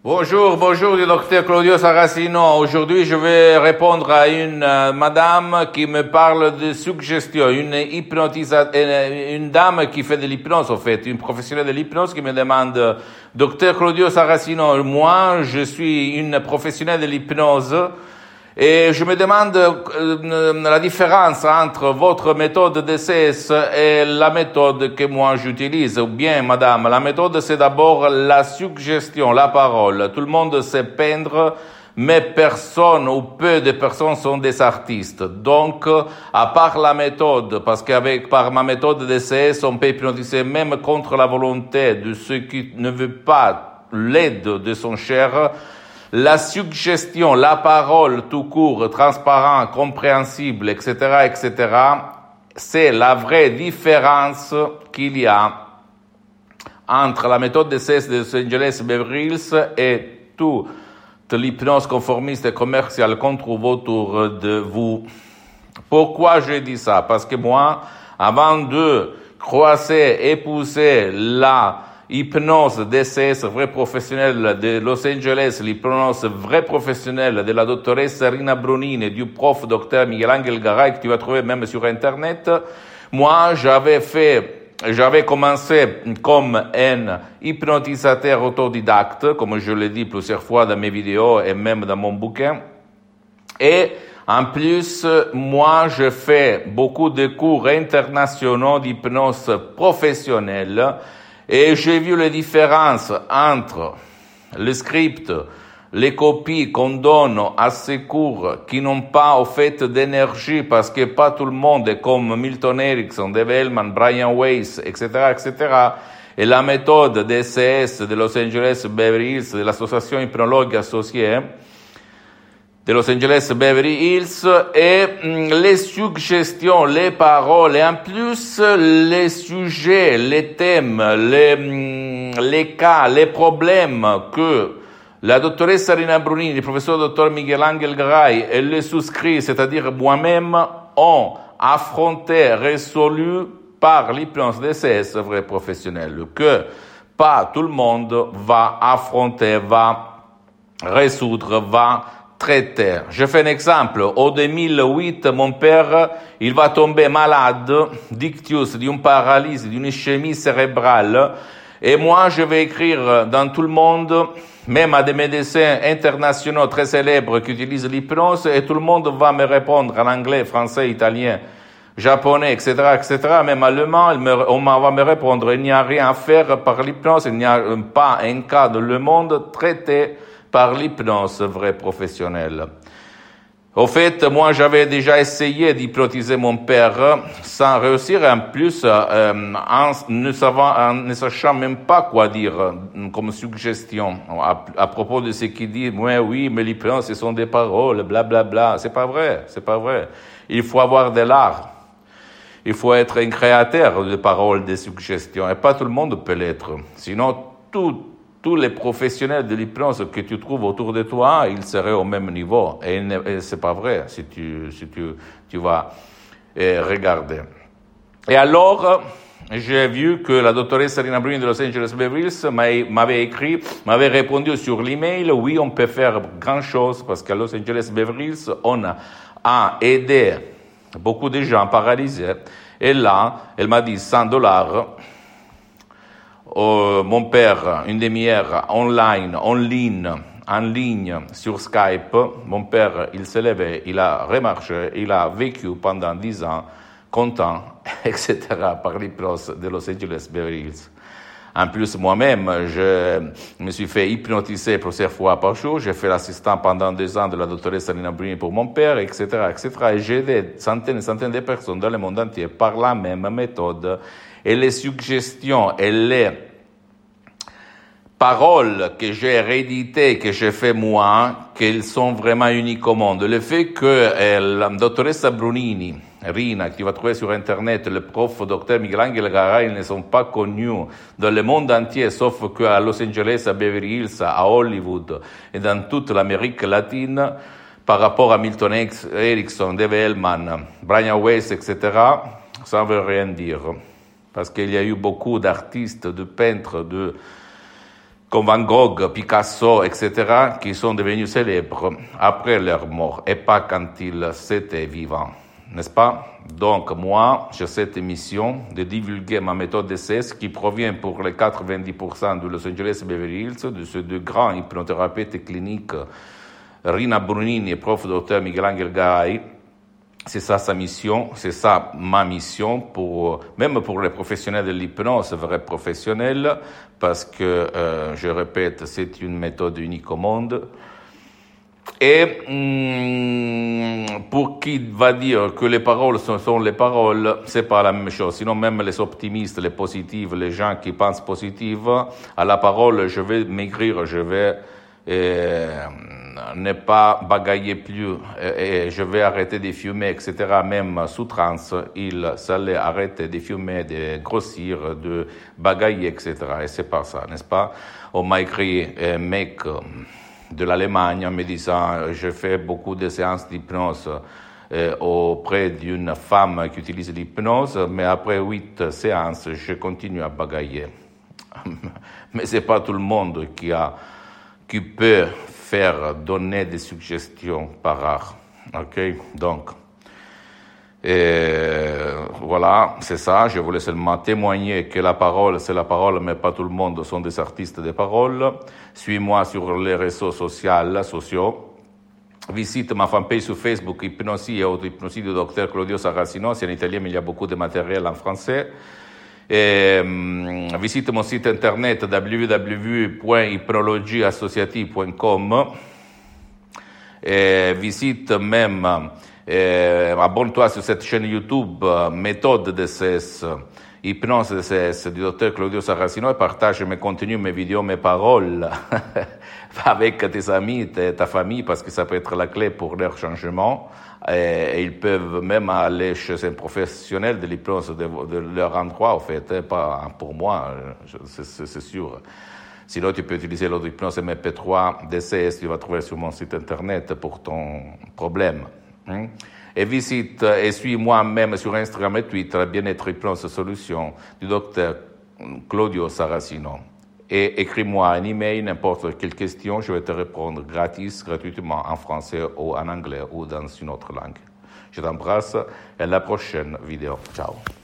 Bonjour, le docteur Claudio Saracino. Aujourd'hui, je vais répondre à une madame qui me parle de suggestion, une dame qui fait de l'hypnose, en fait, une professionnelle de l'hypnose qui me demande, docteur Claudio Saracino, moi, je suis une professionnelle de l'hypnose et je me demande la différence entre votre méthode DCS et la méthode que moi j'utilise. Ou bien, madame, la méthode c'est d'abord la suggestion, la parole. Tout le monde sait peindre, mais personne ou peu de personnes sont des artistes. Donc, à part la méthode, parce par ma méthode DCS, on peut hypnotiser même contre la volonté de ceux qui ne veulent pas l'aide de son cher. La suggestion, la parole tout court, transparent, compréhensible, etc., c'est la vraie différence qu'il y a entre la méthode DCS de Los Angeles Beverly Hills et toute l'hypnose conformiste et commerciale qu'on trouve autour de vous. Pourquoi je dis ça? Parce que moi, avant de croiser, épouser la hypnose DCS vrai professionnel de Los Angeles, l'hypnose vrai professionnel de la dottoressa Rina Brunini et du prof docteur Miguel Angel Garay que tu vas trouver même sur Internet. Moi, j'avais commencé comme un hypnotisateur autodidacte, comme je l'ai dit plusieurs fois dans mes vidéos et même dans mon bouquin. Et en plus, moi, je fais beaucoup de cours internationaux d'hypnose professionnelle. Et j'ai vu les différences entre le script, les copies qu'on donne à ces cours qui n'ont pas au fait d'énergie parce que pas tout le monde est comme Milton Erickson, Dave Hellman, Brian Weiss, etc., et la méthode DCS de Los Angeles Beverly Hills, de l'association hypnologue associée de Los Angeles Beverly Hills, et les suggestions, les paroles, et en plus les sujets, les thèmes, les cas, les problèmes que la dottoressa Rina Brunini, le professeur docteur Miguel Angel Garay et les souscrits, c'est-à-dire moi-même, ont affronté, résolu par l'hypnose DCS vrai professionnel, que pas tout le monde va affronter, va résoudre, va traiter. Je fais un exemple. Au 2008, mon père, il va tomber malade d'ictus, d'une paralysie, d'une ischémie cérébrale. Et moi, je vais écrire dans tout le monde, même à des médecins internationaux très célèbres qui utilisent l'hypnose, et tout le monde va me répondre en anglais, français, italien, japonais, etc., même allemand, on va me répondre, il n'y a rien à faire par l'hypnose, il n'y a pas un cas dans le monde traité par l'hypnose vrai professionnelle. Au fait, moi, j'avais déjà essayé d'hypnotiser mon père sans réussir, en plus, en ne sachant même pas quoi dire comme suggestion à propos de ce qu'il dit. Oui, mais l'hypnose, ce sont des paroles, blablabla. C'est pas vrai. Il faut avoir de l'art. Il faut être un créateur de paroles, de suggestions. Et pas tout le monde peut l'être. Sinon, tous les professionnels de l'hypnose que tu trouves autour de toi, ils seraient au même niveau. Et c'est pas vrai si tu vas regarder. Et alors, j'ai vu que la doctoresse Rina Brunini de Los Angeles Beverly Hills m'avait répondu sur l'email, oui, on peut faire grand chose parce qu'à Los Angeles Beverly Hills, on a aidé beaucoup de gens paralysés. Et là, elle m'a dit $100. Mon père, une demi-heure en ligne, sur Skype. Mon père, il s'est levé, il a remarché, il a vécu pendant 10 ans, content, etc., par l'hypnose de Los Angeles Beverly Hills. En plus, moi-même, je me suis fait hypnotiser plusieurs fois par jour. J'ai fait l'assistant pendant 2 ans de la doctoresse Rina Brunini pour mon père, etc., Et j'ai aidé centaines et centaines de personnes dans le monde entier par la même méthode. Et les suggestions et les paroles que j'ai rééditées, que j'ai fait moi, qu'elles sont vraiment uniques au monde. Le fait que la dottoressa Brunini, Rina, que tu vas trouver sur Internet, le prof docteur Miguel Angel Garay, ils ne sont pas connus dans le monde entier, sauf qu'à Los Angeles, à Beverly Hills, à Hollywood et dans toute l'Amérique latine, par rapport à Milton Erickson, Dave Hellman, Brian Weiss, etc., ça ne veut rien dire. Parce qu'il y a eu beaucoup d'artistes, de peintres, comme Van Gogh, Picasso, etc., qui sont devenus célèbres après leur mort et pas quand ils étaient vivants, n'est-ce pas? Donc moi, j'ai cette mission de divulguer ma méthode DCS qui provient pour les 90% de Los Angeles Beverly Hills, de ces deux grands hypnothérapeutes cliniques, Rina Brunini et prof. Dr. Miguel Angel Garay. C'est ça sa mission, c'est ça ma mission, même pour les professionnels de l'hypnose, vrais professionnels, parce que, je répète, c'est une méthode unique au monde. Et pour qui va dire que les paroles sont les paroles, c'est pas la même chose. Sinon, même les optimistes, les positifs, les gens qui pensent positif, à la parole, je vais maigrir, je vais ne pas bagailler plus, et je vais arrêter de fumer, etc. Même sous transe, il s'allait arrêter de fumer, de grossir, de bagailler, etc. Et c'est pas ça, n'est-ce pas? On m'a écrit un mec de l'Allemagne en me disant je fais beaucoup de séances d'hypnose auprès d'une femme qui utilise l'hypnose, mais après 8 séances, je continue à bagailler. Mais c'est pas tout le monde qui peut faire donner des suggestions par art. Ok, donc voilà, c'est ça. Je voulais seulement témoigner que la parole, c'est la parole, mais pas tout le monde sont des artistes de parole. Suis-moi sur les réseaux sociaux. Visite ma fanpage sur Facebook, Hypnosie et Auto-Hypnosie du Dr. Claudio Saracino. C'est en italien, mais il y a beaucoup de matériel en français. Visite mon site internet www.hypnologieassociative.com. Visite même, abonne-toi sur cette chaîne YouTube, méthode DCS, hypnose DCS du Dr. Claudio Saracino, et partage mes contenus, mes vidéos, mes paroles avec tes amis, ta famille, parce que ça peut être la clé pour leur changement. Et ils peuvent même aller chez un professionnel de l'hypnose de leur endroit, en fait, pas pour moi, c'est sûr. Sinon, tu peux utiliser l'auto-hypnose MP3 DCS, tu vas trouver sur mon site internet pour ton problème. Et visite et suis-moi même sur Instagram et Twitter, Bien-être Hypnose Solution du Dr. Claudio Saracino. Et écris-moi un email, n'importe quelle question, je vais te répondre gratuitement en français ou en anglais ou dans une autre langue. Je t'embrasse et à la prochaine vidéo. Ciao.